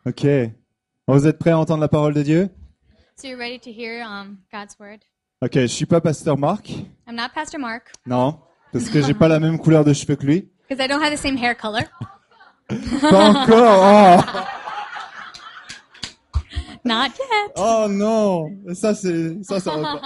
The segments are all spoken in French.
Ok. Vous êtes prêts à entendre la parole de Dieu? So you're ready to hear God's word? Ok, je suis pas pasteur Marc. I'm not Pastor Mark Non, parce que j'ai pas la même couleur de cheveux que lui. because I don't have the same hair color. Pas encore. Not yet. Oh non, ça va pas.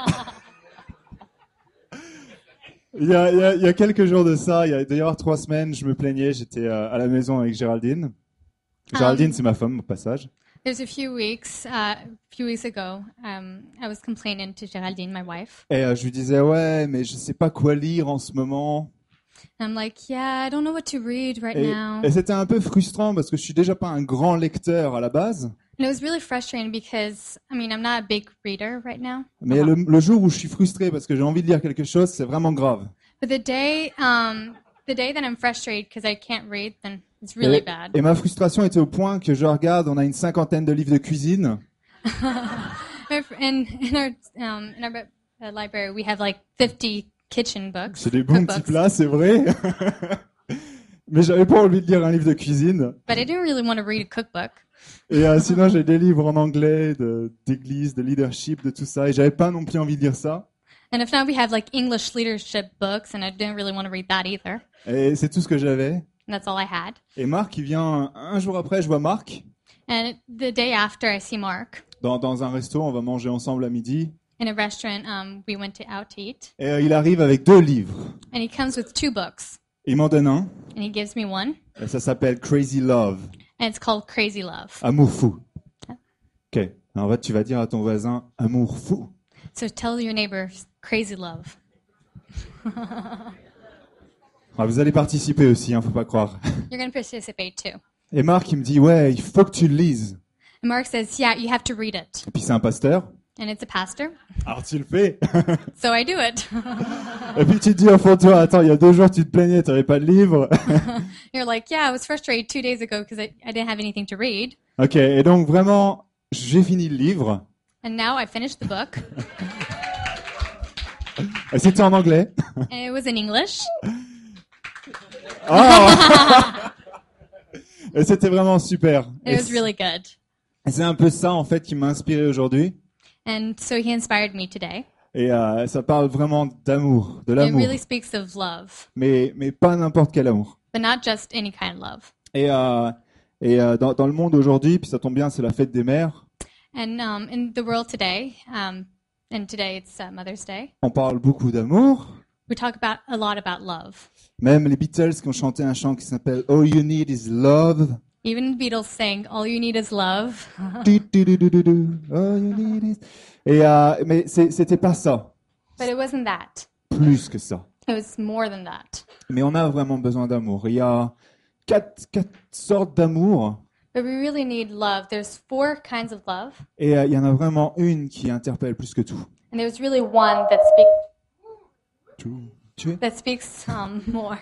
Il y a quelques jours de ça, il y a d'ailleurs 3 semaines, je me plaignais, j'étais à la maison avec Géraldine. Géraldine, c'est ma femme au passage. There's a few weeks ago, I was complaining to Geraldine, my wife. Et je lui disais ouais, mais je sais pas quoi lire en ce moment. And I'm like, yeah, I don't know what to read right now. Et c'était un peu frustrant parce que je suis déjà pas un grand lecteur à la base. And it was really frustrating because, I'm not a big reader right now. Mais le jour où je suis frustré parce que j'ai envie de lire quelque chose, c'est vraiment grave. But the day that I'm frustrated because I can't read, then it's really bad. Et ma frustration était au point que je regarde, on a une 50aine de livres de cuisine. in our library, we have like 50 kitchen books. C'est des bons petits plats, c'est vrai. Mais j'avais pas envie de lire un livre de cuisine. But I didn't really want to read a cookbook. Et sinon, j'ai des livres en anglais, d'église, de leadership, de tout ça. Et j'avais pas non plus envie de lire ça. And if not, we have like English leadership books, and I didn't really want to read that either. Et c'est tout ce que j'avais. And that's all I had. Et Marc, il vient un jour après, je vois Marc. And the day after, I see Mark. Dans un resto, on va manger ensemble à midi. In a restaurant, we went out to eat. Et il arrive avec 2 livres. And he comes with 2 books. Il m'en donne un. And he gives me one. Et ça s'appelle Crazy Love. And it's called Crazy Love. Amour fou. Ok. En fait, tu vas dire à ton voisin, amour fou. So tell your neighbor, Crazy Love. Vous allez participer aussi, faut pas croire. You're going to participate too. Et Marc, il me dit, ouais, il faut que tu le lises. And Mark says, yeah, you have to read it. Et puis c'est un pasteur. And it's a pastor. Alors tu le fais. So I do it. Et puis tu te dis au fond de toi, attends, il y a 2 jours tu te plaignais, tu n'avais pas de livre. You're like, yeah, I was frustrated 2 days ago because I didn't have anything to read. Ok, et donc vraiment, j'ai fini le livre. And now I finished the book. Et c'était en anglais. And it was in English. Oh. Et c'était vraiment super. It was really good. Et c'est un peu ça en fait qui m'a inspiré aujourd'hui. And so he inspired me today. Et ça parle vraiment d'amour, de l'amour. It really speaks of love. Mais pas n'importe quel amour. But not just any kind of love. Et dans le monde aujourd'hui, puis ça tombe bien, c'est la fête des mères. And in the world today, and today it's Mother's Day. On parle beaucoup d'amour. We talk a lot about love. Même les Beatles qui ont chanté un chant qui s'appelle All You Need Is Love. Even the Beatles sang All You Need Is Love. All you need is... Et mais c'était pas ça. But it wasn't that. Plus que ça. It was more than that. Mais on a vraiment besoin d'amour. Il y a quatre sortes d'amour. But we really need love. There's 4 kinds of love. Et il y en a vraiment une qui interpelle plus que tout. And there's really one that speaks more.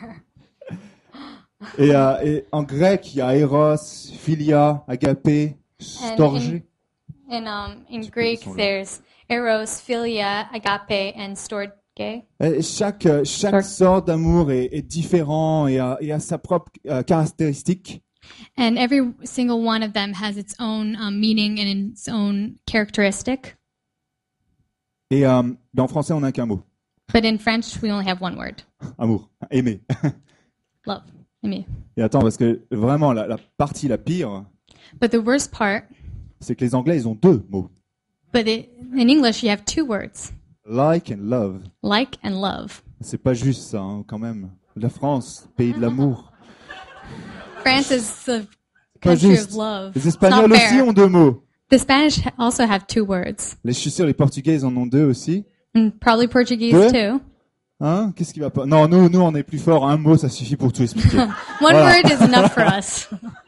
Et en grec, il y a Eros, Philia, Agapé, Storgé. In Greek, there's Eros, Philia, Agape, and Storge. Et chaque sorte d'amour est différent et a sa propre caractéristique. And every single one of them has its own meaning and its own characteristic. Et dans français, on n'a qu'un mot. But in French, we only have one word. Amour, aimer. Love. Aimer. Et attends, parce que vraiment, la partie la pire, But the worst part, c'est que les Anglais, ils ont 2 mots. but in English, you have 2 words. Like and love. Like and love. C'est pas juste ça, hein, quand même. La France, pays de l'amour. France is the Pas country juste. of love. Les It's not Espagnols aussi fair. ont 2 mots. The Spanish also have 2 words. Je suis sûr, les Portugais, ils en ont 2 aussi. And probably Portuguese Deux? too. Hein? Qu'est-ce qui va pas? Non, nous, on est plus fort. Un mot, ça suffit pour tout expliquer. One Voilà. word is enough for us.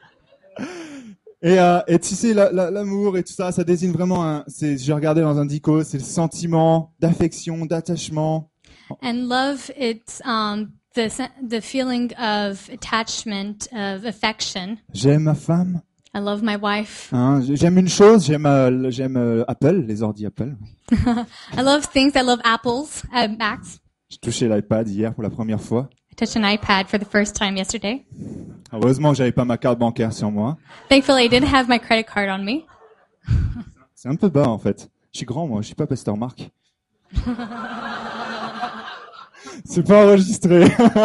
Et tu sais, l'amour et tout ça, ça désigne vraiment j'ai regardé dans un dico, c'est le sentiment d'affection, d'attachement. And love, it's the feeling of attachment, of affection. J'aime ma femme. I love my wife. Hein? J'aime une chose, j'aime Apple, les ordi Apple. I love things. I love apples, Macs. J'ai touché l'iPad hier pour la première fois. I touched an iPad for the first time yesterday. Heureusement que j'avais pas ma carte bancaire sur moi. Thankfully, I didn't have my credit card on me. C'est un peu bas en fait. Je suis grand moi, je suis pas pasteur Marc. C'est pas enregistré.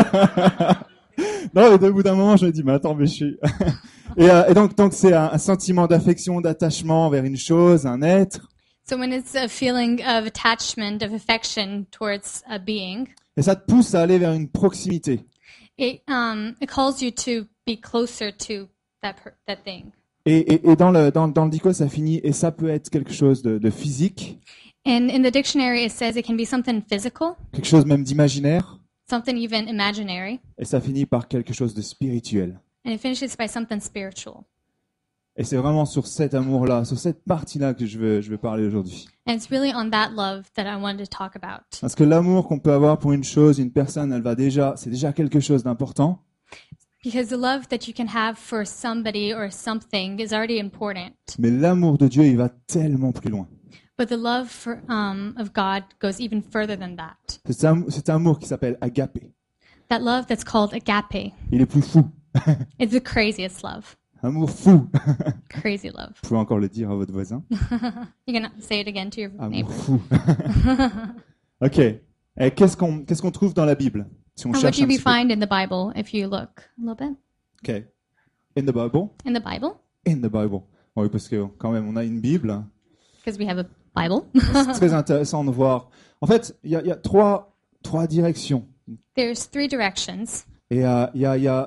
Non, mais au bout d'un moment, je me dis, mais attends, mais je suis... et donc c'est un sentiment d'affection, d'attachement vers une chose, un être. So when it's a feeling of attachment, of affection towards a being, Et ça te pousse à aller vers une proximité. it calls you to be closer to that thing. Et dans le dico, ça finit, et ça peut être quelque chose de physique, And in the dictionary, it says it can be something physical, quelque chose même d'imaginaire, something even imaginary, et ça finit par quelque chose de spirituel. and it finishes by something spiritual. Et c'est vraiment sur cet amour-là, sur cette partie-là que je veux parler aujourd'hui. And it's really on that love that I wanted to talk about. Parce que l'amour qu'on peut avoir pour une chose, une personne, c'est déjà quelque chose d'important. Because the love that you can have for somebody or something is already important. Mais l'amour de Dieu, il va tellement plus loin. But the love of God goes even further than that. C'est un amour qui s'appelle agapé. That love that's called agape. Il est plus fou. It's the craziest love. Amour fou. Crazy love. Vous pouvez encore le dire à votre voisin. You can say it again to your Amour neighbor. fou. Ok. Et qu'est-ce qu'on trouve dans la Bible si on And what cherche do un we petit peu? find in the Bible if you look a little bit? Ok. In the Bible. In the Bible? In the Bible. Oui, parce que quand même, on a une Bible. Because we have a Bible. C'est très intéressant de voir. En fait, il y a trois directions. There's 3 directions. Et il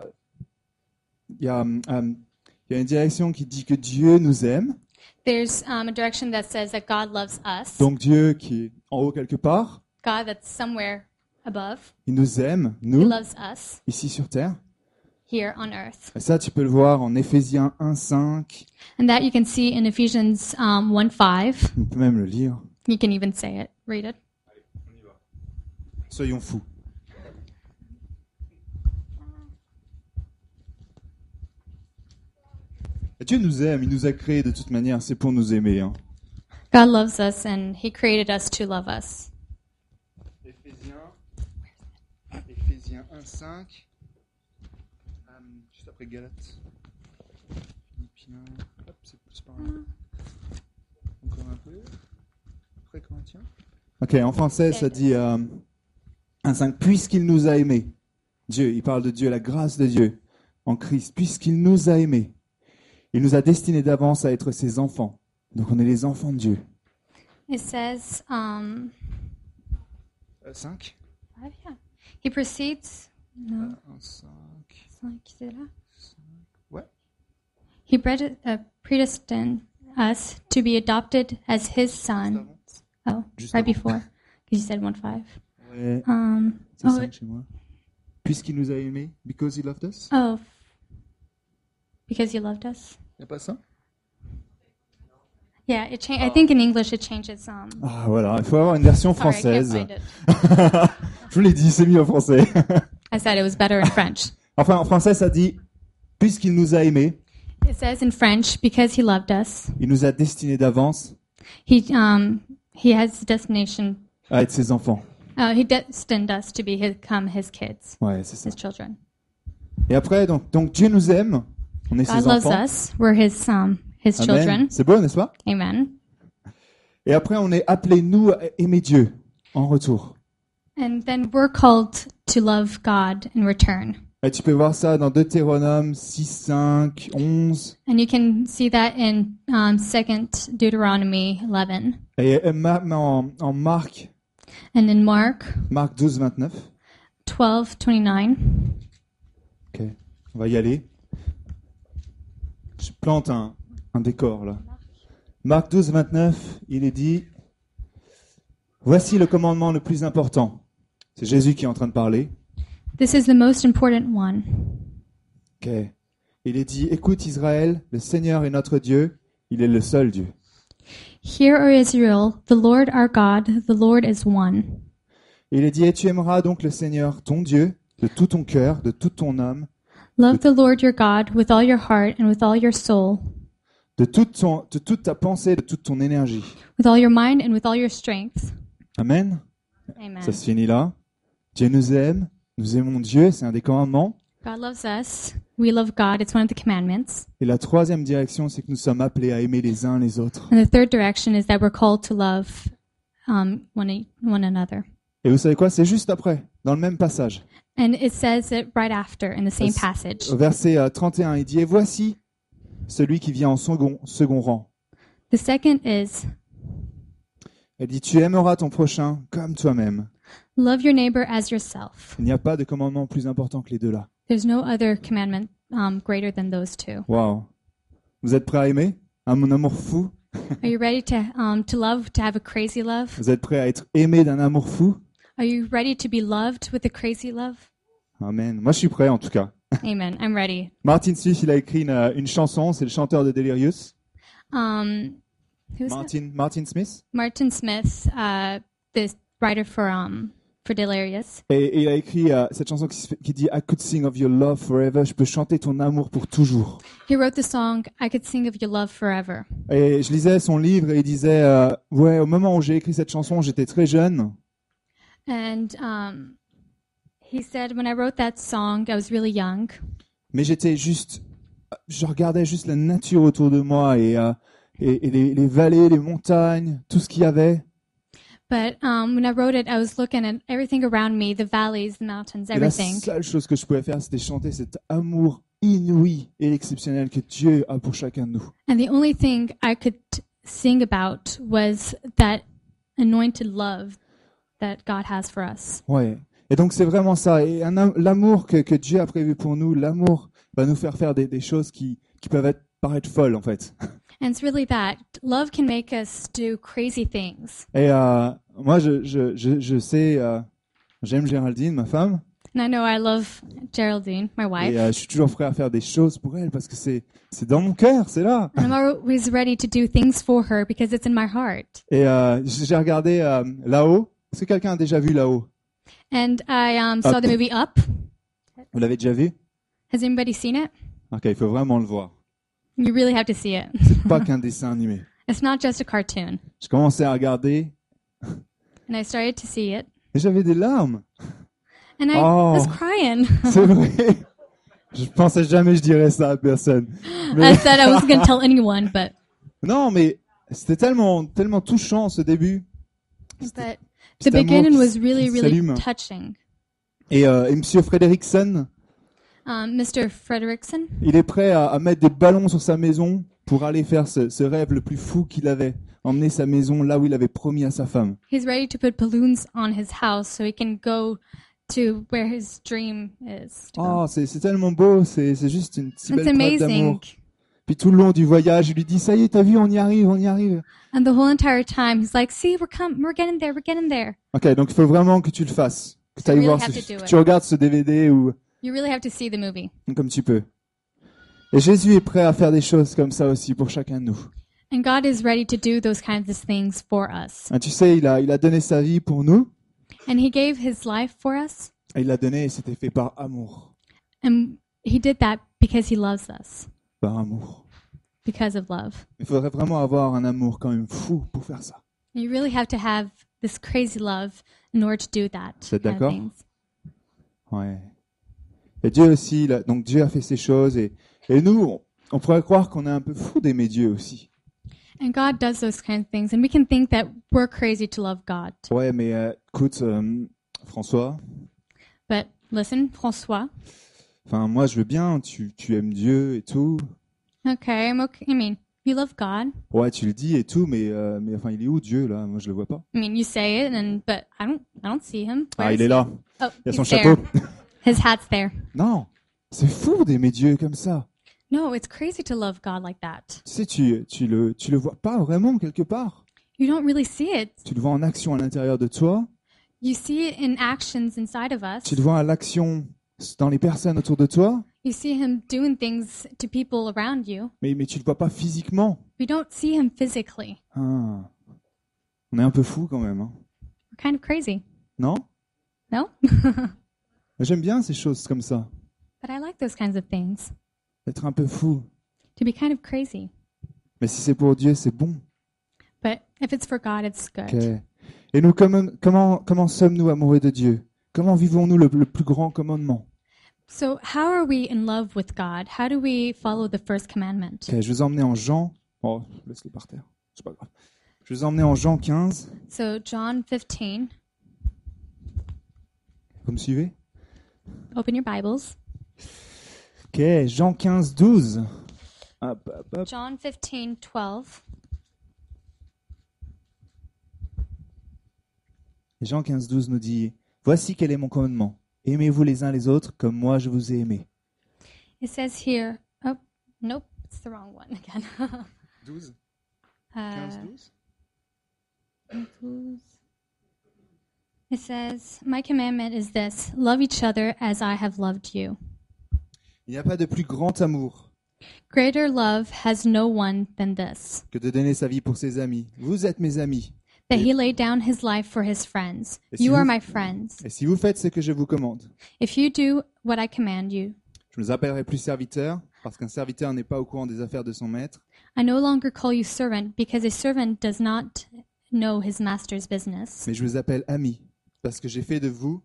y a une direction qui dit que Dieu nous aime. There's a direction that says that God loves us. Donc Dieu qui est en haut quelque part, God that's somewhere above. il nous aime, He nous, loves us ici sur terre. here on earth. Et ça, tu peux le voir en Éphésiens 1:5. And that you can see in Ephesians 1:5. On peut même le lire. You can even say it, read it. Soyons fous. Et Dieu nous aime, il nous a créés de toute manière, c'est pour nous aimer. Hein. God loves us and He created us to love us. Éphésiens 1:5. Juste après Galates. Philippiens. Hop, c'est plus par là. Encore un peu. Après Corinthiens. Ok, en français, ça dit 1:5. Puisqu'il nous a aimés. Dieu, il parle de Dieu, la grâce de Dieu en Christ. Puisqu'il nous a aimés. Il nous a destinés d'avance à être ses enfants. Donc on est les enfants de Dieu. It says, 5. yeah. He proceeds. No, 5. c'est là. Ouais. He predestined us to be adopted as His sons. Oh, Juste right avant. before, because you said 1:5. Ouais, c'est Oh, 5 chez moi. Puisqu'il nous a aimés, because he loved us. oh, because you loved us. Il n'y a pas ça? Yeah, it I think in English it changes. Ah voilà, il faut avoir une version Sorry, I can't française. find it. Je vous l'ai dit, c'est mieux en français. I said it was better in French. Enfin, en français, ça dit, puisqu'il nous a aimés, It says in French, because He loved us, il nous a destinés d'avance He has a destination. à être ses enfants. He destined us to become His kids, Ouais, c'est ça. His children. Et après, donc Dieu nous aime, on est God ses loves enfants. us. We're His children. Amen. C'est beau, n'est-ce pas? Amen. Et après, on est appelés, nous, à aimer Dieu en retour. And then we're called to love God in return. Et tu peux voir ça dans Deutéronome 6, 5, 11. And you can see that in 2 Deuteronomy 11. Et en Marc And in Mark 12, 29. 12:29. Ok, on va y aller. Je plante un décor là. Marc 12, 29, il est dit, voici le commandement le plus important. C'est Jésus qui est en train de parler. This is the most important one. Ok. Il est dit, écoute Israël, le Seigneur est notre Dieu, il est le seul Dieu. Hear, O Israel, the Lord our God, the Lord is one. Il est dit, et tu aimeras donc le Seigneur, ton Dieu, de tout ton cœur, de toute ton âme, Love the Lord your God with all your heart and with all your soul, de toute ta pensée, de toute ton énergie. with all your mind and with all your strength. Amen. Amen. Ça se finit là. Dieu nous aime, nous aimons Dieu, c'est un des commandements. God loves us. we love God. It's one of the commandments. Et la troisième direction, c'est que nous sommes appelés à aimer les uns les autres. And the third direction is that we're called to love one another. Et vous savez quoi? C'est juste après, dans le même passage. And it says it right after in the same passage. Au verset 31, il dit « Et voici celui qui vient en second rang. The second is, » Elle dit « Tu aimeras ton prochain comme toi-même. » love your neighbor as yourself. Il n'y a pas de commandement plus important que les deux là. There's no other commandment greater than those two. Waouh! Vous êtes prêts à aimer? À mon amour fou? Are you ready to love, to have a crazy love? Vous êtes prêts à être aimé d'un amour fou? Are you ready to be loved with a crazy love? Amen. Moi, je suis prêt en tout cas. Amen. I'm ready. Martin Smith, il a écrit une chanson, c'est le chanteur de Delirious. Who's that? Martin Smith. Martin Smith, the writer for Delirious. Et il a écrit cette chanson qui dit I could sing of your love forever. Je peux chanter ton amour pour toujours. He wrote the song I Could Sing of Your Love Forever. Et je lisais son livre et il disait ouais, au moment où j'ai écrit cette chanson, j'étais très jeune. And he said, when I wrote that song, I was really young. Mais je regardais juste la nature autour de moi et les vallées, les montagnes, tout ce qu'il y avait. But when I wrote it, I was looking at everything around me, the valleys, the mountains, Et la everything. seule chose que je pouvais faire, c'était chanter cet amour inouï et exceptionnel que Dieu a pour chacun de nous. And the only thing I could sing about was that anointed love that God has for us. Ouais. Et donc c'est vraiment ça. Et l'amour que Dieu a prévu pour nous, l'amour va nous faire des choses qui peuvent paraître folles en fait. And it's really that. Love can make us do crazy things. Et moi, je sais, j'aime Géraldine, ma femme. And I know I love Geraldine, my Et wife. je suis toujours prêt à faire des choses pour elle parce que c'est dans mon cœur, c'est là. And I'm always ready to do things for her because it's in my heart. Et j'ai regardé là-haut. Est-ce que quelqu'un a déjà vu là-haut? And I saw the movie Up. Vous l'avez déjà vu? Has anybody seen it? Ok, il faut vraiment le voir. You really have to see it. C'est pas qu'un dessin animé. It's not just a cartoon. Je commençais à regarder And I started to see it. et j'avais des larmes. And I Oh. was crying. C'est vrai. Je pensais jamais je dirais ça à personne. I said I wasn't going to tell anyone, but Non, mais c'était tellement touchant ce début. the Cet amour beginning qui was really, really s'allume. touching. Et Monsieur Frederickson, Mr. Frederickson, il est prêt à mettre des ballons sur sa maison pour aller faire ce rêve le plus fou qu'il avait, emmener sa maison là où il avait promis à sa femme. he's ready to put balloons on his house so he can go to where his dream is. To go. Oh, c'est tellement beau, c'est juste une si It's belle preuve amazing. d'amour. Puis tout le long du voyage, il lui dit, ça y est, t'as vu, on y arrive, on y arrive. And the whole entire time, he's like, see, we're getting there, we're getting there. Ok, donc il faut vraiment que tu le fasses, que tu ailles really voir, have to do que it. tu regardes ce DVD ou You really have to see the movie. comme tu peux. Et Jésus est prêt à faire des choses comme ça aussi pour chacun de nous. And God is ready to do those kinds of things for us. Tu sais, il a donné sa vie pour nous, And he gave his life for us. et il l'a donné et c'était fait par amour. And he did that because he loves us, Par amour. because of love. Il faudrait vraiment avoir un amour quand même fou pour faire ça. You really have to have this crazy love in order to do that. Vous êtes kind of d'accord? things. Ouais. Et Dieu aussi, donc Dieu a fait ces choses et nous, on pourrait croire qu'on est un peu fou d'aimer Dieu aussi. And God does those kinds of things. And we can think that we're crazy to love God. Ouais, mais écoute, François, But listen, François. enfin moi je veux bien, tu aimes Dieu et tout. Okay, I'm okay. I mean, you love God. Ouais, tu le dis et tout, mais enfin il est où Dieu là? Moi je le vois pas. I mean, you say it, but I don't see him. Where Ah, is il est he? là. Oh, Il y a son he's there. chapeau. His hat's there. Non, c'est fou d'aimer Dieu comme ça. No, it's crazy to love God like that. Tu sais, tu le vois pas vraiment quelque part. You don't really see it. Tu le vois en action à l'intérieur de toi. You see it in actions inside of us. Tu le vois à l'action dans les personnes autour de toi. You see him doing things to people around you. Mais tu le vois pas physiquement. We don't see him physically. Ah. On est un peu fou quand même, hein. We're kind of crazy. Non? No? J'aime bien ces choses comme ça. But I like those kinds of things. Être un peu fou. To be kind of crazy. Mais si c'est pour Dieu, c'est bon. But if it's for God, it's good. Ok. Et nous, comment sommes-nous amoureux de Dieu? Comment vivons-nous le plus grand commandement? So how are we in love with God? How do we follow the first commandment? Ok, je vais vous emmener en Jean. Oh, laisse-les par terre. C'est pas grave. Je vais vous emmener en Jean 15. So John 15, Vous me suivez? open your Bibles. Ok, Jean 15, 12. Hop, hop, hop. John 15:12. Et Jean 15, 12 nous dit « Voici quel est mon commandement. Aimez-vous les uns les autres comme moi je vous ai aimé. It says here, oh, nope, it's the wrong one again. » 12, Uh, 12. It says, "My commandment is this: love each other as I have loved you." Il n'y a pas de plus grand amour Greater love has no one than this, que de donner sa vie pour ses amis. Vous êtes mes amis. that he laid down his life for his friends. Et si You are vous- my friends. Et si vous faites ce que je vous commande, If you do what I command you, je ne vous appellerai plus serviteur, parce qu'un serviteur n'est pas au courant des affaires de son maître, I no longer call you servant, because a servant does not know his master's business. mais je vous appelle ami, parce que j'ai fait de vous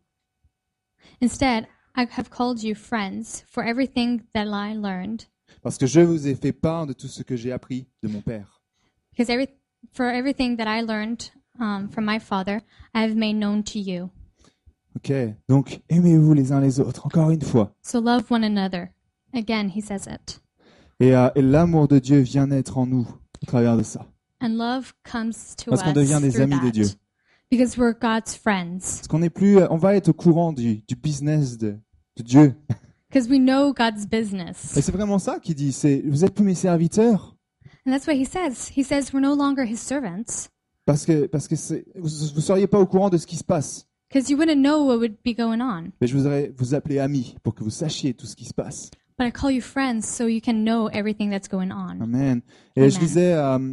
Instead, I have called you friends, for everything that I learned, parce que je vous ai fait part de tout ce que j'ai appris de mon Père. because for everything that I learned from my Father, I have made known to you. Ok, donc aimez-vous les uns les autres, encore une fois. So love one another. Again, he says it. Et l'amour de Dieu vient naître en nous au travers de ça. And love comes to Parce qu'on devient des us through amis de Dieu. that. Because we're God's friends. Parce qu'on n'est plus, on va être au courant du business de Dieu. Because we know God's business. Et c'est vraiment ça qu'il dit, c'est vous êtes plus mes serviteurs And that's what he says. He says we're no longer his servants. parce que vous seriez pas au courant de ce qui se passe. Because you wouldn't know what would be going on. Mais je voudrais vous appeler amis pour que vous sachiez tout ce qui se passe. But I call you friends so you can know everything that's going on. Amen. Et Amen. je disais,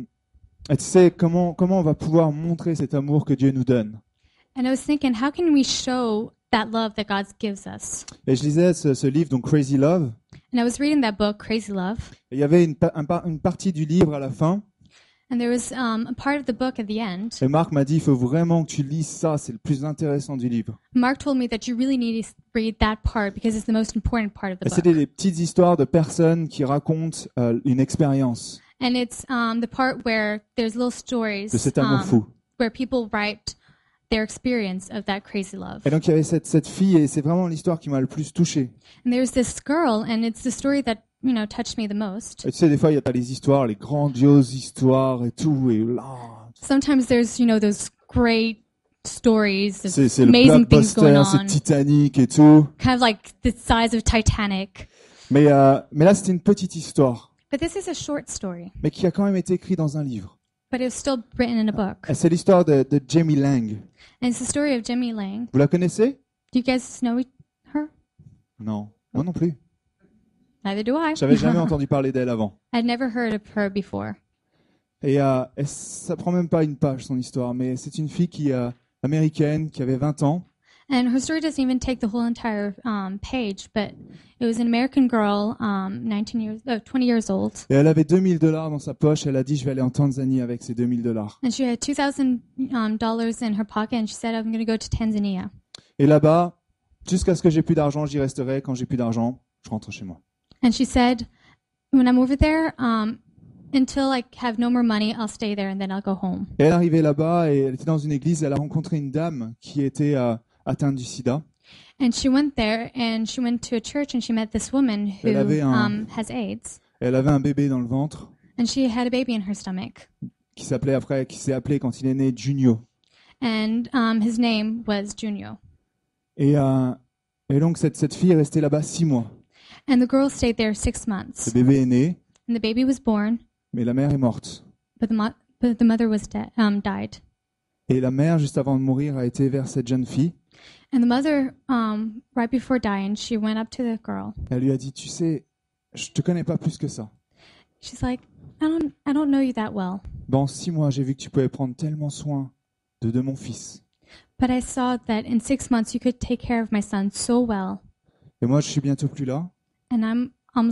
tu sais, comment on va pouvoir montrer cet amour que Dieu nous donne. And I was thinking, how can we show that love that God gives us? Et je lisais ce livre, donc Crazy Love. And I was reading that book, Crazy Love. Et il y avait une partie du livre à la fin. And there was a part of the book at the end. Et Marc m'a dit, il faut vraiment que tu lises ça, c'est le plus intéressant du livre. Mark told me that you really need to read that part because it's the most important part of the Et book. c'était des petites histoires de personnes qui racontent une expérience And it's the part where there's little stories de cet amour fou. where people write their experience of that crazy love. Et donc il y avait cette fille, et c'est vraiment l'histoire qui m'a le plus touché. And there's this girl, and it's the story that touched me the most. Et tu sais, des fois, il y a les histoires, les grandioses histoires et tout, et là, Sometimes there's those great stories of c'est le amazing things going blockbuster, c'est on, Titanic et tout. kind of like the size of Titanic. Mais là, c'était une petite histoire, But this is a short story, mais qui a quand même été écrite dans un livre. but it was still written in a book. Et c'est l'histoire de Jamie Lang. And it's the story of Jimmy Lang. Vous la connaissez? Do you guys know her? Non, moi non plus. Neither do I. J'avais jamais entendu parler d'elle avant. I'd never heard of her before. Et ça prend même pas une page, son histoire, mais c'est une fille américaine qui avait 20 ans. And her story doesn't even take the whole entire page, but it was an American girl, 20 years old, Et elle avait $2000 dans sa poche. Elle a dit, je vais aller en Tanzanie avec ces $2000. and she had $2,000 in her pocket, and she said, "I'm going to go to Tanzania." Et là-bas, jusqu'à ce que j'ai plus d'argent, j'y resterai. Quand j'ai plus d'argent, je rentre chez moi. And she said, "When I'm over there, until I have no more money, I'll stay there, and then I'll go home." Et elle est arrivée là-bas et elle était dans une église. Elle a rencontré une dame qui était atteinte du sida. And she went there, and she went to a church, and she met this woman who Elle avait has AIDS, Et elle avait un bébé dans le ventre and she had a baby in her stomach, qui s'est appelé quand il est né Junio. and his name was Junio. Et donc cette fille est restée là-bas 6 mois. And the girl stayed there 6 months, Le bébé est né, and the baby was born, mais la mère est morte. but the mother was died. Et la mère, juste avant de mourir, a été vers cette jeune fille. And the mother, right before dying, she went up to the girl. Elle lui a dit, tu sais, je te connais pas plus que ça. She's like, I don't know you that well, Dans 6 mois, j'ai vu que tu pouvais prendre tellement soin de mon fils. but I saw that in 6 months you could take care of my son so well, Et moi, je suis bientôt plus là, and I'm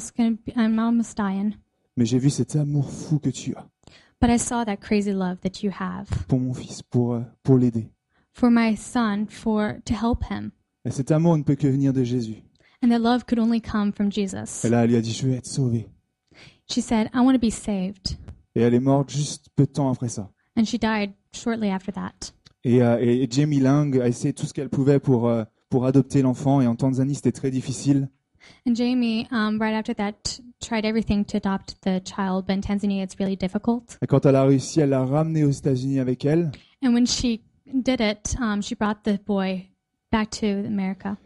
almost dying. mais j'ai vu cet amour fou que tu as But I saw that crazy love that you have pour mon fils, pour l'aider. for my son, to help him. Et cet amour ne peut que venir de Jésus. And that love could only come from Jesus. Et là, elle lui a dit, je veux être sauvée. She said, I want to be saved. Et elle est morte juste peu de temps après ça. And she died shortly after that. Et Jamie Lang a essayé tout ce qu'elle pouvait pour adopter l'enfant. Et en Tanzanie, c'était très difficile. And Jamie, right after that, tried everything to adopt the child, but in Tanzania it's really difficult. Et quand elle a réussi, elle l'a ramené aux États-Unis avec elle. And when she did it, she brought the boy back to America.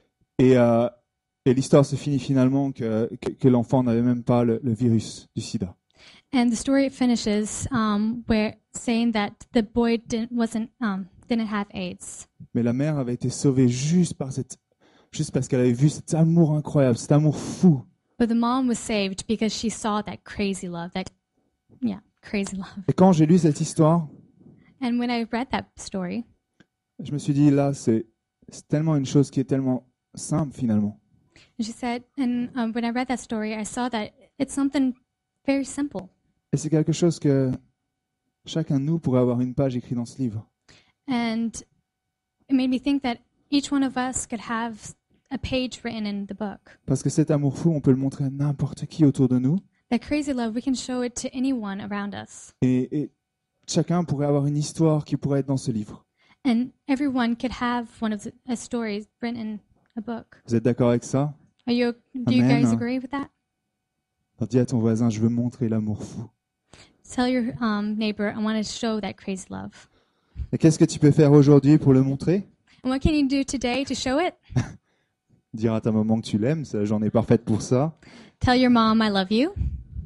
Et l'histoire se finit finalement que l'enfant n'avait même pas le virus du sida. And the story finishes where saying that the boy didn't have AIDS. Mais la mère avait été sauvée juste parce qu'elle avait vu cet amour incroyable, cet amour fou. But the mom was saved because she saw that crazy love, crazy love. Et quand j'ai lu cette histoire, And when I read that story, je me suis dit, là, c'est tellement une chose qui est tellement simple finalement. she said, and when I read that story, I saw that it's something very simple. Et c'est quelque chose que chacun de nous pourrait avoir une page écrite dans ce livre. And it made me think that each one of us could have a page written in the book. Parce que cet amour fou, on peut le montrer à n'importe qui autour de nous. That crazy love, we can show it to anyone around us. Et chacun pourrait avoir une histoire qui pourrait être dans ce livre. And everyone could have one of the stories written in a book. Vous êtes d'accord avec ça? Do you guys Amen. agree with that? Alors dis à ton voisin, je veux montrer l'amour fou. Tell your neighbor, I want to show that crazy love. Et qu'est-ce que tu peux faire aujourd'hui pour le montrer? And what can you do today to show it? Dire à ta maman que tu l'aimes, ça, j'en ai parfaite pour ça. Tell your mom I love you.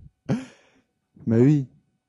Mais oui.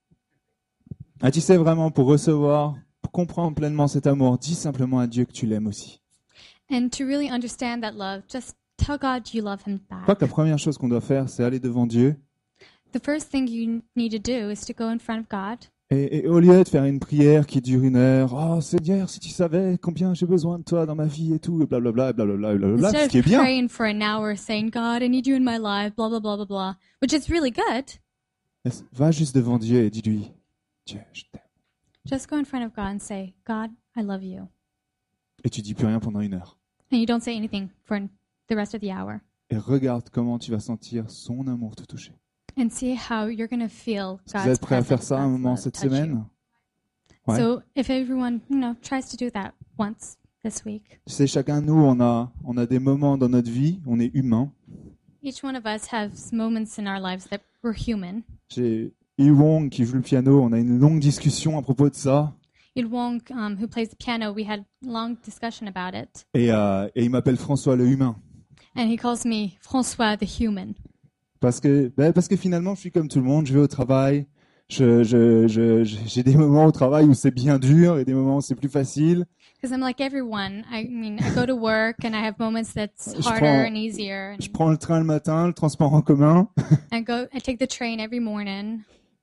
Ah, tu sais vraiment, pour recevoir, pour comprendre pleinement cet amour, dis simplement à Dieu que tu l'aimes aussi. And to really understand that love, just tell God you love him Je crois back. que la première chose qu'on doit faire, c'est aller devant Dieu. The first thing you need to do is to go in front of God. Et au lieu de faire une prière qui dure 1 heure, oh Seigneur, si tu savais combien j'ai besoin de toi dans ma vie et tout, et blablabla, et blablabla, et blablabla, ce Instead qui est of bien. praying for an hour saying, God, I need you in my life, blah, blah, blah, blah, blah, which is really good. Va juste devant Dieu et dis-lui, Dieu, je t'aime. Just go in front of God and say, God, I love you. Et tu dis plus rien pendant 1 heure. And you don't say anything for the rest of the hour. Et regarde comment tu vas sentir son amour te toucher. And see how you're going to feel Est-ce que vous God's êtes prêts à faire presence, ça un God's moment love cette touch you. semaine? Ouais. So if everyone, tries to do that once this week, Tu sais, chacun de nous, on a des moments dans notre vie, on est humain. each one of us has moments in our lives that we're human. J'ai Yi Wong qui joue le piano, on a une longue discussion à propos de ça. Il Wong, who plays the piano, we had a long discussion about it. Et il m'appelle François le humain. And he calls me François the human. Parce que finalement, je suis comme tout le monde, je vais au travail. J'ai des moments au travail où c'est bien dur et des moments où c'est plus facile. Because I'm like everyone. I go to work and I have moments that's Je harder prends- and easier. Je prends le train le matin, le transport en commun. I take the train every morning.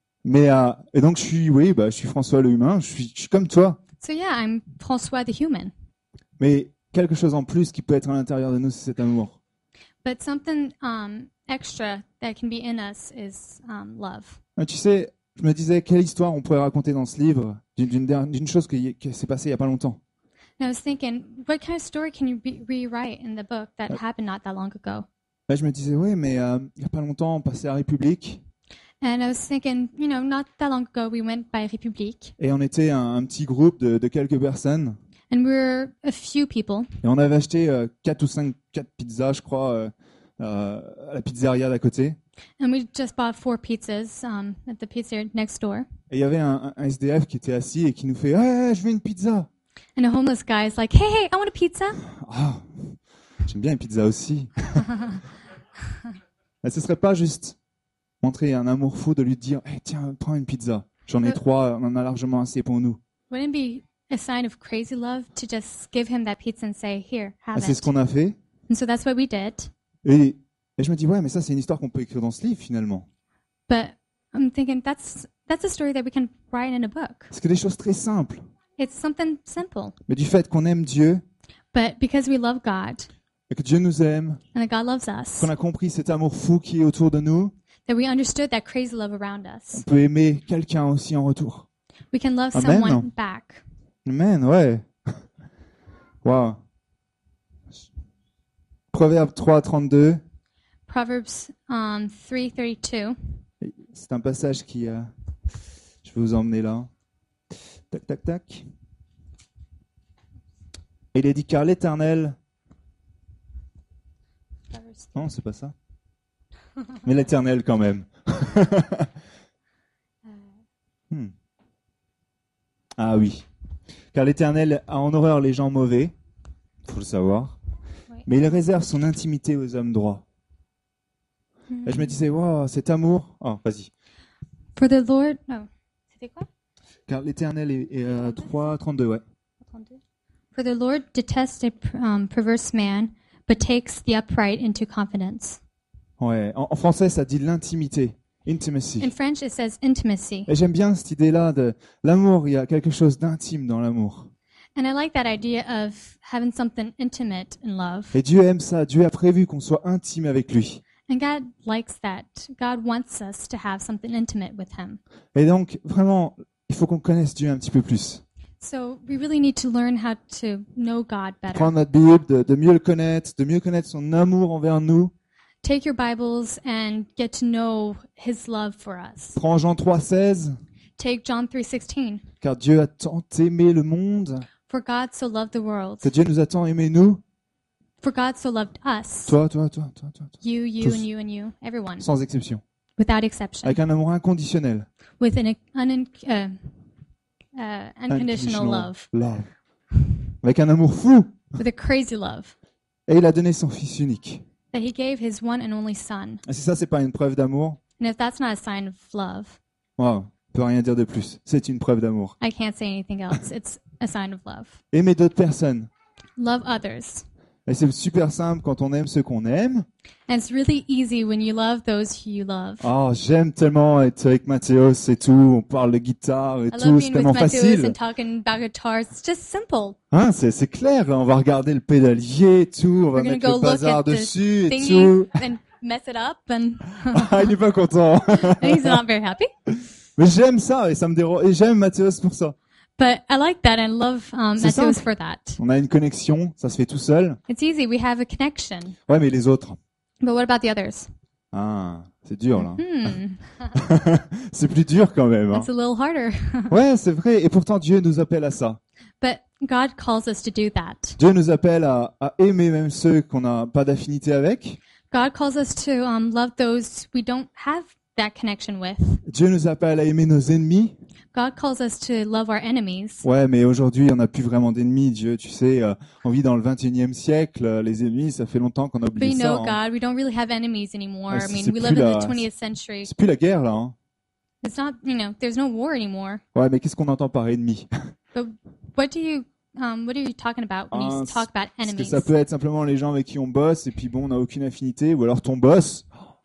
Et donc, je suis François le humain, je suis comme toi. So yeah, I'm François the human. Mais quelque chose en plus qui peut être à l'intérieur de nous, c'est cet amour. But something extra that can be in us is love. Tu sais, je me disais, quelle histoire on pourrait raconter dans ce livre d'une chose qui s'est passée il n'y a pas longtemps. And I was thinking, what kind of story can you rewrite in the book that happened not that long ago? Là, je me disais, oui, mais il n'y a pas longtemps, on passait à République And I was thinking, not that long ago we went by République, et on était un petit groupe de quelques personnes and we were a few people, et on avait acheté 4 pizzas, je crois, à la pizzeria d'à côté. and we just bought 4 pizzas at the pizza next door. Et il y avait un SDF qui était assis et qui nous fait, hey, je veux une pizza. And a homeless guy is like, hey, I want a pizza. Ah, j'aime bien les pizzas aussi. Mais ce serait pas juste montrer un amour fou de lui dire, hey, tiens, prends une pizza. J'en ai 3, on en a largement assez pour nous. Wouldn't it be a sign of crazy love to just give him that pizza and say, here, have C'est ce it? qu'on a fait. And so that's what we did. Et je me dis, ouais, mais ça, c'est une histoire qu'on peut écrire dans ce livre, finalement. But I'm thinking that's a story that we can write in a book. C'est que des choses très simples. It's something simple. Mais du fait qu'on aime Dieu, But because we love God et que Dieu nous aime, and that God loves us, qu'on a compris cet amour fou qui est autour de nous, that we understood that crazy love around us, on peut aimer quelqu'un aussi en retour. we can love Amen. someone back. Amen, ouais. Wow. Proverbe 3:32. Proverbs 3:32. C'est un passage qui... je vais vous emmener là. Tac, tac, tac. Et il est dit, car l'Éternel... Non, c'est pas ça. Mais l'Éternel quand même. Ah oui. Car l'Éternel a en horreur les gens mauvais, faut le savoir, mais il réserve son intimité aux hommes droits. Et je me disais, wow, cet amour... Oh, vas-y. For the Lord... Oh, c'était quoi? Car l'Éternel est 3:32, ouais. For the Lord detests a perverse man, but takes the upright into confidence. Ouais. En français, ça dit l'intimité. Intimacy. In French, it says intimacy. Et j'aime bien cette idée-là de l'amour. Il y a quelque chose d'intime dans l'amour. And I like that idea of having something intimate in love. Et Dieu aime ça. Dieu a prévu qu'on soit intime avec lui. And God likes that. God wants us to have something intimate with Him. Et donc, vraiment, il faut qu'on connaisse Dieu un petit peu plus. So we really need to learn how to know God better. Prendre notre Bible, de mieux le connaître, de mieux connaître son amour envers nous. Take your Bibles and get to know His love for us. Prends Jean 3:16. Take John 3:16. Car Dieu a tant aimé le monde, For God so loved the world. que Dieu nous a tant aimé nous. For God so loved us. Toi. You, Tous. and you, and you. Everyone. Sans exception. Without exception. Avec un amour inconditionnel. With an unconditional love. Avec un amour fou. With a crazy love. Et il a donné son Fils unique. That He gave His one and only Son. Et si ça, c'est pas une preuve d'amour, And if that's not a sign of love, wow, on peut rien dire de plus. C'est une preuve d'amour. I can't say anything else. It's a sign of love. Aimer d'autres personnes. Love others. Et c'est super simple quand on aime ceux qu'on aime. And it's really easy when you love those who you love. Oh, j'aime tellement être avec Mathéos et tout. On parle de guitare et I tout. love C'est being tellement with Matthews facile. and talking about guitars. It's just simple. Hein, c'est clair. On va regarder le pédalier et tout. On va We're gonna mettre go le look bazar at the dessus et thingy tout. and mess it up, and Ah, il est pas content. he's not very happy. Mais j'aime ça et ça me dérange. Et j'aime Mathéos pour ça. But I like that and love C'est Matthews simple. for that. On a une connexion. Ça se fait tout seul. It's easy. We have a connection. Ouais, mais les autres. But what about the others? Ah, c'est dur là. C'est plus dur quand même. Hein. It's a little harder. Ouais, c'est vrai. Et pourtant, Dieu nous appelle à ça. But God calls us to do that. Dieu nous appelle à aimer même ceux qu'on n'a pas d'affinité avec. God calls us to love those we don't have that connection with. Dieu nous appelle à aimer nos ennemis. God calls us to love our enemies. Ouais, mais aujourd'hui, on n'a plus vraiment d'ennemis. Dieu, tu sais, on vit dans le 21e siècle. Les ennemis, ça fait longtemps qu'on a But oublié you ça. know, Hein. God, we don't really have enemies anymore. Ouais, I mean, c'est we plus live in la- the 20th century. C'est plus la guerre là. Hein. It's not, there's no war anymore. Ouais, mais qu'est-ce qu'on entend par ennemi? But what are you talking about when you talk about Parce que enemies? ça peut être simplement les gens avec qui on bosse et puis bon, on n'a aucune affinité. Ou alors ton boss.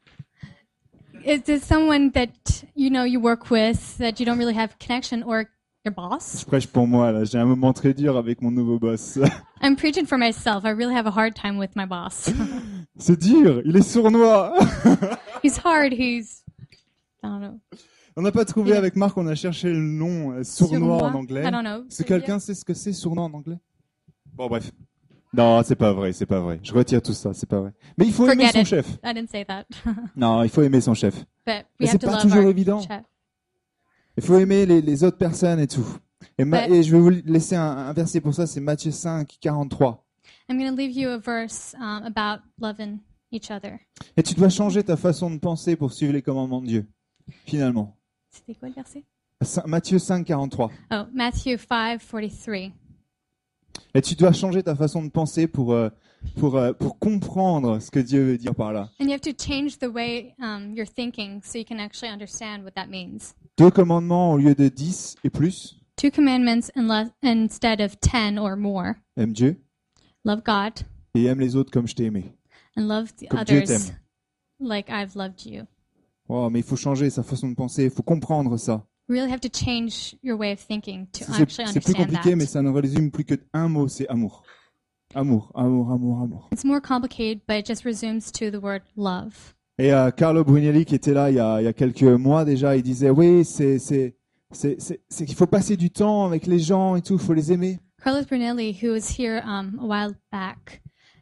Is this someone that, you work with that you don't really have connection, or your boss? Je prêche pour moi là. J'ai un moment très dur avec mon nouveau boss. I'm preaching for myself. I really have a hard time with my boss. C'est dur. Il est sournois. He's hard. I don't know. On n'a pas trouvé avec Marc, on a cherché le nom sournois en anglais. I don't know. Est-ce que quelqu'un sait ce que c'est sournois en anglais? Bon, bref. Non, c'est pas vrai. Je retire tout ça, c'est pas vrai. Mais il faut aimer Forget son it. chef. I didn't say that. Non, il faut aimer son chef. But Mais we c'est have to pas love toujours our évident. chef. Il faut aimer les autres personnes et tout. Et je vais vous laisser un verset pour ça, c'est Matthieu 5, 43. I'm going to leave you a verse about loving each other. Et tu dois changer ta façon de penser pour suivre les commandements de Dieu, finalement. C'était quoi le verset? Matthieu 5, 43. Oh, Matthew 5:43. Et tu dois changer ta façon de penser pour comprendre ce que Dieu veut dire par là. And you have to change the way you're thinking so you can actually understand what that means. 2 commandements au lieu de 10 et plus. 2 commandments instead of 10 or more. Aime Dieu Love God et aime les autres comme je t'ai aimé. and love the Comme Dieu others t'aime. like I've loved you. Oh, mais il faut changer sa façon de penser, il faut comprendre ça. You really have to change your way of thinking to C'est actually plus understand compliqué, that. mais ça ne résume plus que un mot, c'est amour. Amour, amour, amour, amour. It's more complicated, but it just resumes to the word love. Et Carlo Brunelli qui était là il y a quelques mois déjà, il disait oui, c'est qu'il faut passer du temps avec les gens et tout, il faut les aimer. Carlos Brunelli, who was here a while back,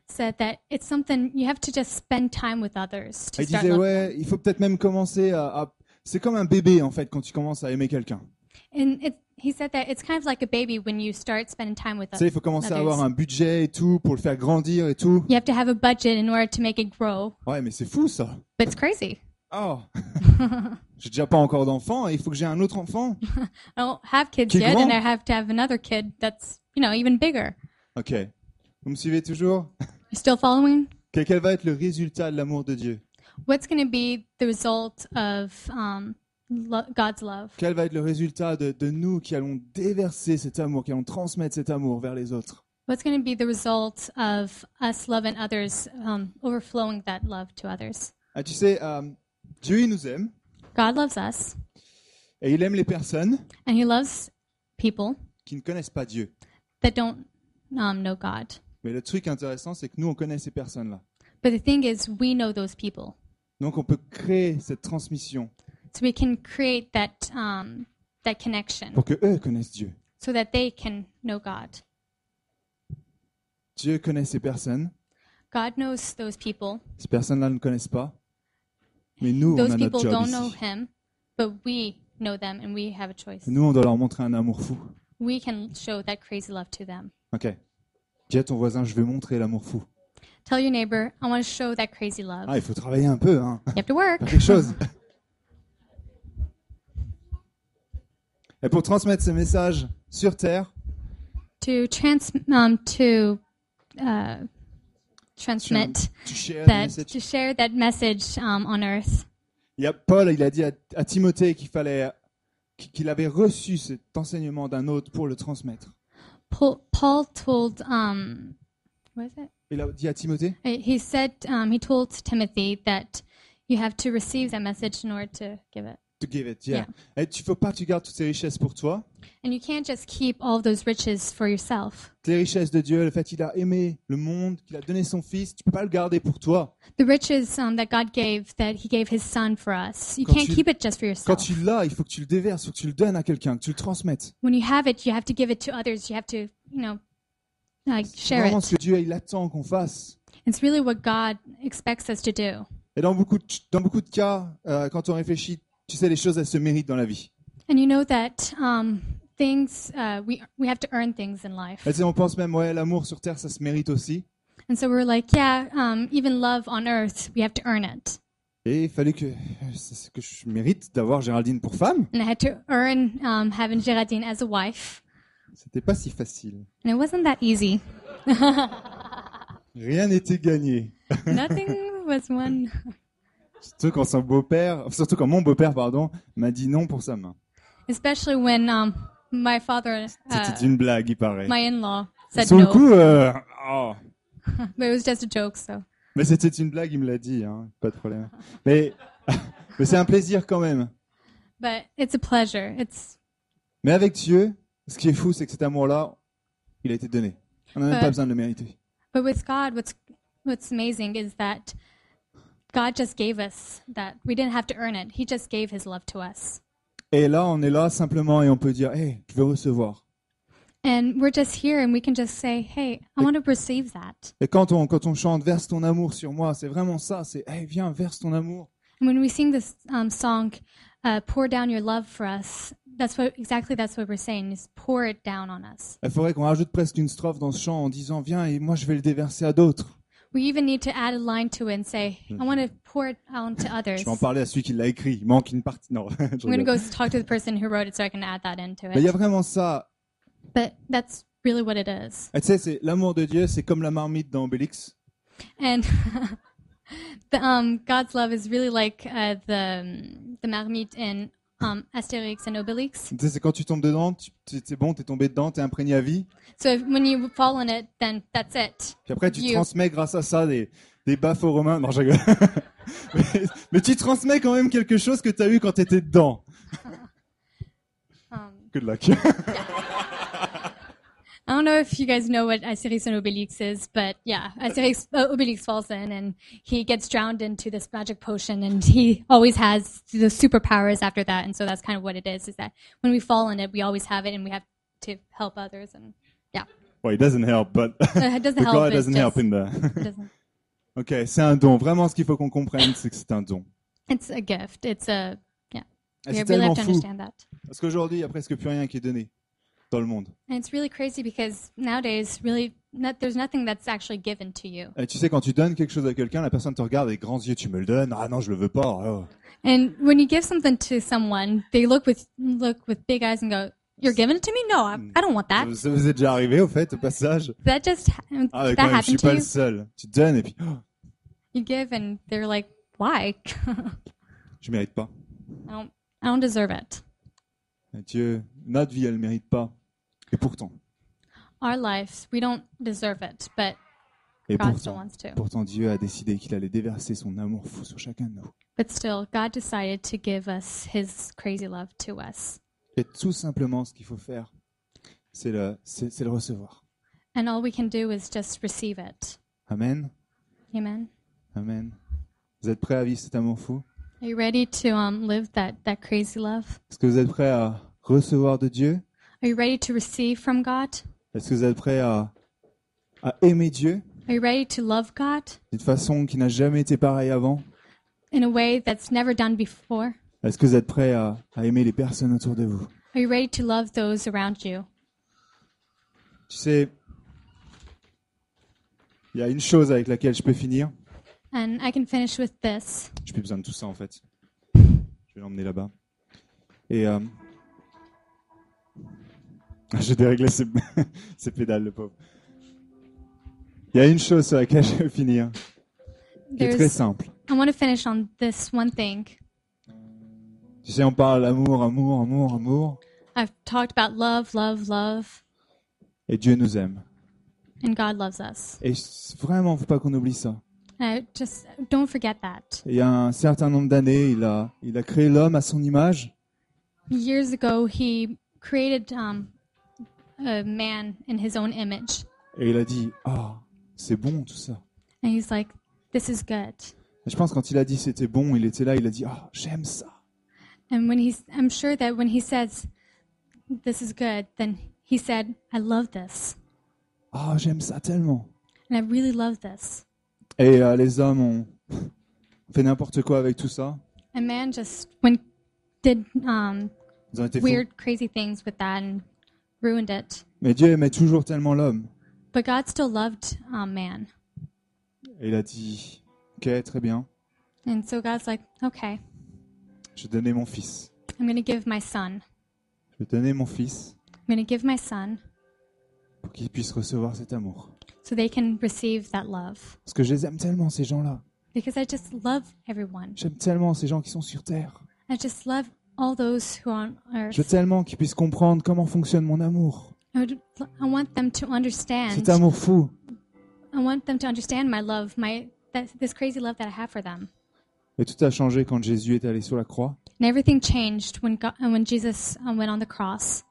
said that it's something you have to just spend time with others to Il start disait, loving. ouais, il faut peut-être même commencer c'est comme un bébé, en fait, quand tu commences à aimer quelqu'un. And he said that it's kind of like a baby when you start spending time with Tu sais, il faut commencer à others. avoir un budget et tout pour le faire grandir et tout. You have to have a budget in order to make it grow. Ouais, mais c'est fou, ça. But it's crazy. Oh, j'ai déjà pas encore d'enfant et il faut que j'ai un autre enfant. I don't have kids Qui est yet, grand. and I have to have another kid that's, even bigger. Ok. Vous me suivez toujours? You still following? Quel va être le résultat de l'amour de Dieu? What's going to be the result of God's love? Quel va être le résultat de nous qui allons déverser cet amour, qui allons transmettre cet amour vers les autres? What's going to be the result of us loving others, overflowing that love to others? Ah, tu sais, Dieu, il nous aime God loves us, et il aime les personnes and He loves people qui ne connaissent pas Dieu. that don't know God. Mais le truc intéressant, c'est que nous, on connaît ces personnes-là. But the thing is, we know those people, Donc, on peut créer cette transmission so we can create that connection, pour que eux connaissent Dieu. so that they can know God. Dieu connaît ces personnes. God knows those people. Ces personnes-là ne connaissent pas. Mais nous, on Those a notre people job don't know ici. Him, but we know them, and we have a choice. Et nous, on doit leur montrer un amour fou. We can show that crazy love to them. Ok. Dis à ton voisin, je vais montrer l'amour fou. Tell your neighbor, I want to show that crazy love. Ah, il faut travailler un peu, hein. You have to work. Faire quelque chose. Et pour transmettre ce message sur Terre, To transmit tu shares the that, message. to share that message on earth. Il y a Paul, il a dit à Timothée qu'il avait reçu cet enseignement d'un autre pour le transmettre. Paul told, what is it? Il a dit à Timothée, He said, he told Timothy that you have to receive that message in order to give it. to give it, yeah. Et tu faut pas que tu gardes toutes ces richesses pour toi. And you can't just keep all those riches for yourself. Les richesses de Dieu, le fait qu'il a aimé le monde, qu'il a donné son fils, tu peux pas le garder pour toi. The riches that God gave, that He gave His Son for us, you Quand can't tu- keep it just for Quand yourself. tu l'as, il faut que tu le déverses, il faut que tu le donnes à quelqu'un, que tu le transmettes. When you have it, you have to give it to others. You have to, C'est share vraiment it. ce que Dieu il attend qu'on fasse. It's really what God expects us to do. Et dans beaucoup de cas, quand on réfléchit, tu sais, les choses, elles se méritent dans la vie. And you know that things, we have to earn things in life. Et tu sais, on pense même, ouais, l'amour sur terre, ça se mérite aussi. And so we're like, yeah, even love on earth, we have to earn it. Et il fallait que je mérite d'avoir Géraldine pour femme. And I had to earn having Geraldine as a wife. C'était pas si facile. And it wasn't that easy. Rien n'était gagné. Nothing was won. Surtout quand mon beau-père, m'a dit non pour sa main. Especially when my father, C'était une blague, il paraît. my in-law, said Sur le no. coup, oh. But it was just a joke, so. Mais c'était une blague, il me l'a dit, hein, pas de problème. Mais c'est un plaisir quand même. But it's a pleasure. Mais avec Dieu, ce qui est fou, c'est que cet amour-là, il a été donné. On n'a même pas besoin de le mériter. But with God, what's amazing is that God just gave us that. We didn't have to earn it. He just gave His love to us. Et là, on est là simplement et on peut dire, hey, je veux recevoir. And we're just here and we can just say, hey, I want to receive that. Et quand on chante, verse ton amour sur moi, c'est vraiment ça, c'est, hey, viens, verse ton amour. And when we sing this song, pour down your love for us, that's what we're saying, is pour it down on us. Il faudrait qu'on rajoute presque une strophe dans ce chant en disant, viens, et moi je vais le déverser à d'autres. We even need to add a line to it and say, I want to pour it out to others. Je vais en parler à celui qui l'a écrit, il manque une partie. Non. I'm going to go talk to the person who wrote it so I can add that into Mais il y a it. vraiment ça. But that's really what it is. Et tu sais, c'est l'amour de Dieu, c'est comme la marmite dans Obélix. And God's love is really like the marmite in Asterix and Obelix. Tu sais, c'est quand tu tombes dedans, c'est bon, t'es tombé dedans, t'es imprégné à vie. So when you fall in it, then that's it. Puis après, tu You- transmets grâce à ça des baffes aux Romains. Non, je rigole. mais tu transmets quand même quelque chose que t'as eu quand t'étais dedans. Good luck. I don't know if you guys know what Asterix and Obelix is, but yeah, Obelix falls in and he gets drowned into this magic potion, and he always has the superpowers after that. And so that's kind of what it is that when we fall in it, we always have it, and we have to help others. And yeah. Well, it doesn't help, but It doesn't the help. God It's doesn't help just, in there. it doesn't. Ok, c'est un don. Vraiment, ce qu'il faut qu'on comprenne, c'est que c'est un don. It's a gift. It's a yeah. Et We c'est really tellement have to fou, understand that. parce qu'aujourd'hui, il n'y a presque plus rien qui est donné dans le monde. And it's really crazy because nowadays, really, there's nothing that's actually given to you. Et tu sais, quand tu donnes quelque chose à quelqu'un, la personne te regarde avec grands yeux, tu me le donnes? Ah non, je le veux pas. Oh. And when you give something to someone, they look with big eyes and go, "You're giving it to me? No, I don't want that." Ça vous est déjà arrivé, au fait, au passage? That just Ah, mais that quand même, je suis happened to pas le you. seul. Tu donnes et puis, oh, You give and they're like, "Why? je mérite pas. I don't deserve it." Et Dieu, notre vie, elle mérite pas. Et pourtant, Our lives, we don't deserve it, but et God still pourtant, wants to. pourtant, Dieu a décidé qu'il allait déverser son amour fou sur chacun de nous. But still, God decided to give us His crazy love to us. Et tout simplement, ce qu'il faut faire, c'est le recevoir. And all we can do is just receive it. Amen. Amen. Amen. Vous êtes prêts à vivre cet amour fou? Are you ready to live that crazy love? Est-ce que vous êtes prêts à recevoir de Dieu? Are you ready to receive from God? Est-ce que vous êtes prêts à aimer Dieu Are you ready to love God d'une façon qui n'a jamais été pareille avant? in a way that's never done before? Est-ce que vous êtes prêts à aimer les personnes autour de vous? Are you ready to love those around you? Tu sais, il y a une chose avec laquelle je peux finir. And I can finish with this. J'ai plus besoin de tout ça en fait. Je vais l'emmener là-bas. Et j'ai déréglé ses pédales, le pauvre. Il y a une chose sur laquelle je vais finir, qui est très simple. I want to finish on this one thing. Tu sais, on parle amour, amour, amour, amour. I've talked about love, love, love, Et Dieu nous aime. and God loves us. Et vraiment, faut pas qu'on oublie ça. Just don't forget that. Et il y a un certain nombre d'années, il a créé l'homme à son image. Years ago, He created a man in His own image, Et il a dit, ah, c'est bon tout ça. and He's like, "This is good." Et je pense quand il a dit c'était bon, il était là, il a dit, ah, j'aime ça. And I'm sure that when He says, "This is good," then He said, "I love this, Ah, j'aime ça tellement. and I really love this." Et les hommes ont fait n'importe quoi avec tout ça. And man just did Ils ont été fous. weird, crazy things with that and ruined it. Mais Dieu aimait toujours tellement l'homme. But God still loved man. Et il a dit, ok, très bien, And so God's like, "Okay, je vais donner mon fils. I'm going to give my son. Je vais donner mon fils I'm going to give my son pour qu'il puisse recevoir cet amour. so they can receive that love." Parce que je les aime tellement, ces gens-là. Because I just love everyone. J'aime tellement ces gens qui sont sur Terre. I just love all those who are on earth. Je veux tellement qu'ils puissent comprendre comment fonctionne mon amour. I want them to understand. Cet amour fou. I want them to understand my love, this crazy love that I have for them. Et tout a changé quand Jésus est allé sur la croix. And everything changed when Jesus went on the cross.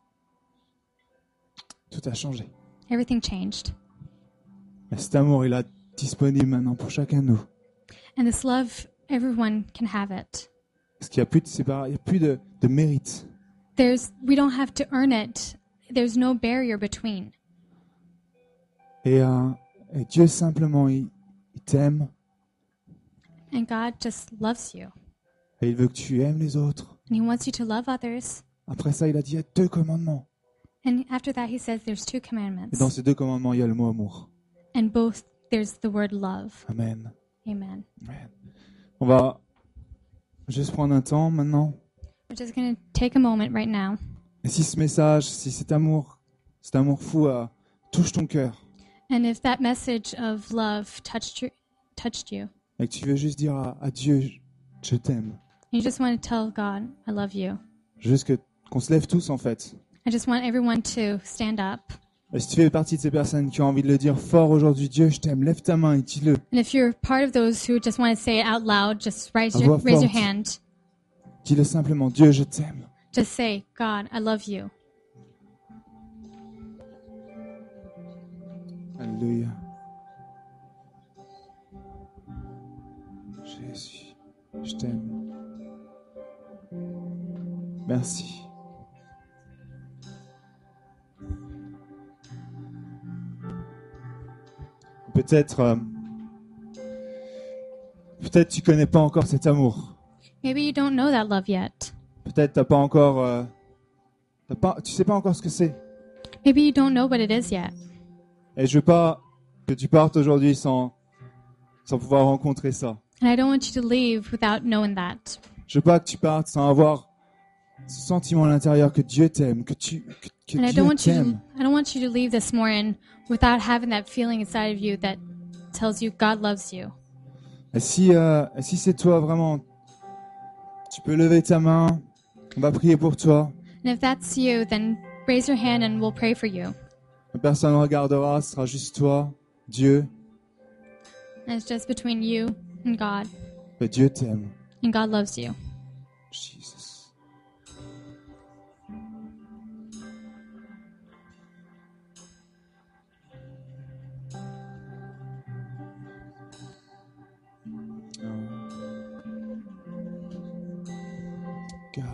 Tout a changé. Everything changed. Et cet amour, il est disponible maintenant pour chacun de nous. And this love, everyone can have it. Parce qu'il n'y a plus de il n'y a plus de mérite. We don't have to earn it. There's no barrier between. Et Dieu simplement, il t'aime. And God just loves you. Et il veut que tu aimes les autres. And He wants you to love others. Après ça, il a dit, il y a 2 commandements. And after that, He says there's 2 Et commandments. dans ces 2 commandements, il y a le mot amour. And both, there's the word love. Amen. Amen. Amen. On va juste prendre un temps maintenant. We're just going to take a moment right now. Et si ce message, si cet amour fou touche ton cœur, And if that message of love touched you, et que tu veux juste dire à Dieu, je t'aime. you just want to tell God, "I love you." Juste qu'on se lève tous en fait. I just want everyone to stand up. Et si tu fais partie de ces personnes qui ont envie de le dire fort aujourd'hui, Dieu, je t'aime, lève ta main et dis-le. And if you're part of those who just want to say it out loud, just raise À your voix forte. hand. Dis-le simplement, Dieu, je t'aime. Just say, "God, I love you." Alléluia. Jésus, je t'aime. Merci. peut-être tu connais pas encore cet amour. Maybe you don't know that love yet. Peut-être t'as pas encore, tu sais pas encore ce que c'est. Maybe you don't know what it is yet. Et je veux pas que tu partes aujourd'hui sans pouvoir rencontrer ça. And I don't want you to leave without knowing that. Je veux pas que tu partes sans avoir ce sentiment à l'intérieur que Dieu t'aime, que And I Dieu t'aime. don't want you to leave this morning without having that feeling inside of you that tells you God loves you. Et si c'est toi vraiment, tu peux lever ta main, on va prier pour toi. And if that's you, then raise your hand and we'll pray for you. Personne ne regardera, ce sera juste toi, Dieu. And it's just between you and God. Et Dieu t'aime. And God loves you. Jesus. God.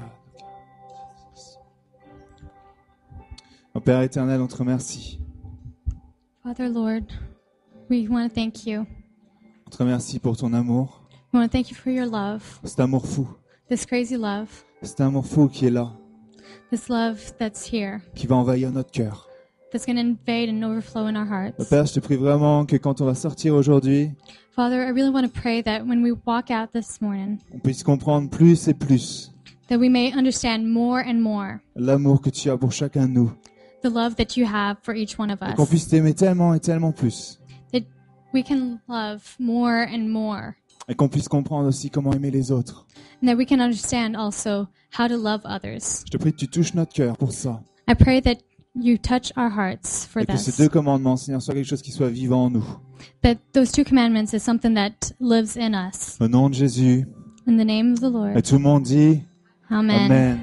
Mon Père éternel, on te remercie. Father, Lord, we want to thank you. On te remercie pour ton amour. We want to thank you for your love, Cet amour fou. this crazy love, Cet amour fou qui est là, this love that's here, qui va envahir notre cœur. that's going to invade and overflow in our Mon hearts. Père, je te prie vraiment que quand on va sortir aujourd'hui, Father, I really want to pray that when we walk out this morning, on puisse comprendre plus et plus that we may understand more and more l'amour que tu as pour chacun de nous. the love that you have for each one of Et qu'on us. puisse t'aimer tellement et tellement plus. That we can love more and more. Et qu'on puisse comprendre aussi comment aimer les autres. And that we can understand also how to love others. Je te prie que tu touches notre cœur pour ça. I pray that you touch our hearts for Et que ces this. deux commandements, Seigneur, soient quelque chose qui soit vivant en nous. That those two commandments is something that lives in us. Au nom de Jésus. In the name of the Et Lord. tout le monde dit Amen. Amen.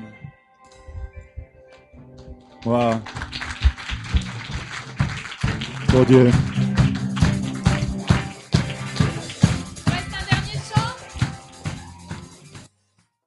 Wow. Pour Dieu.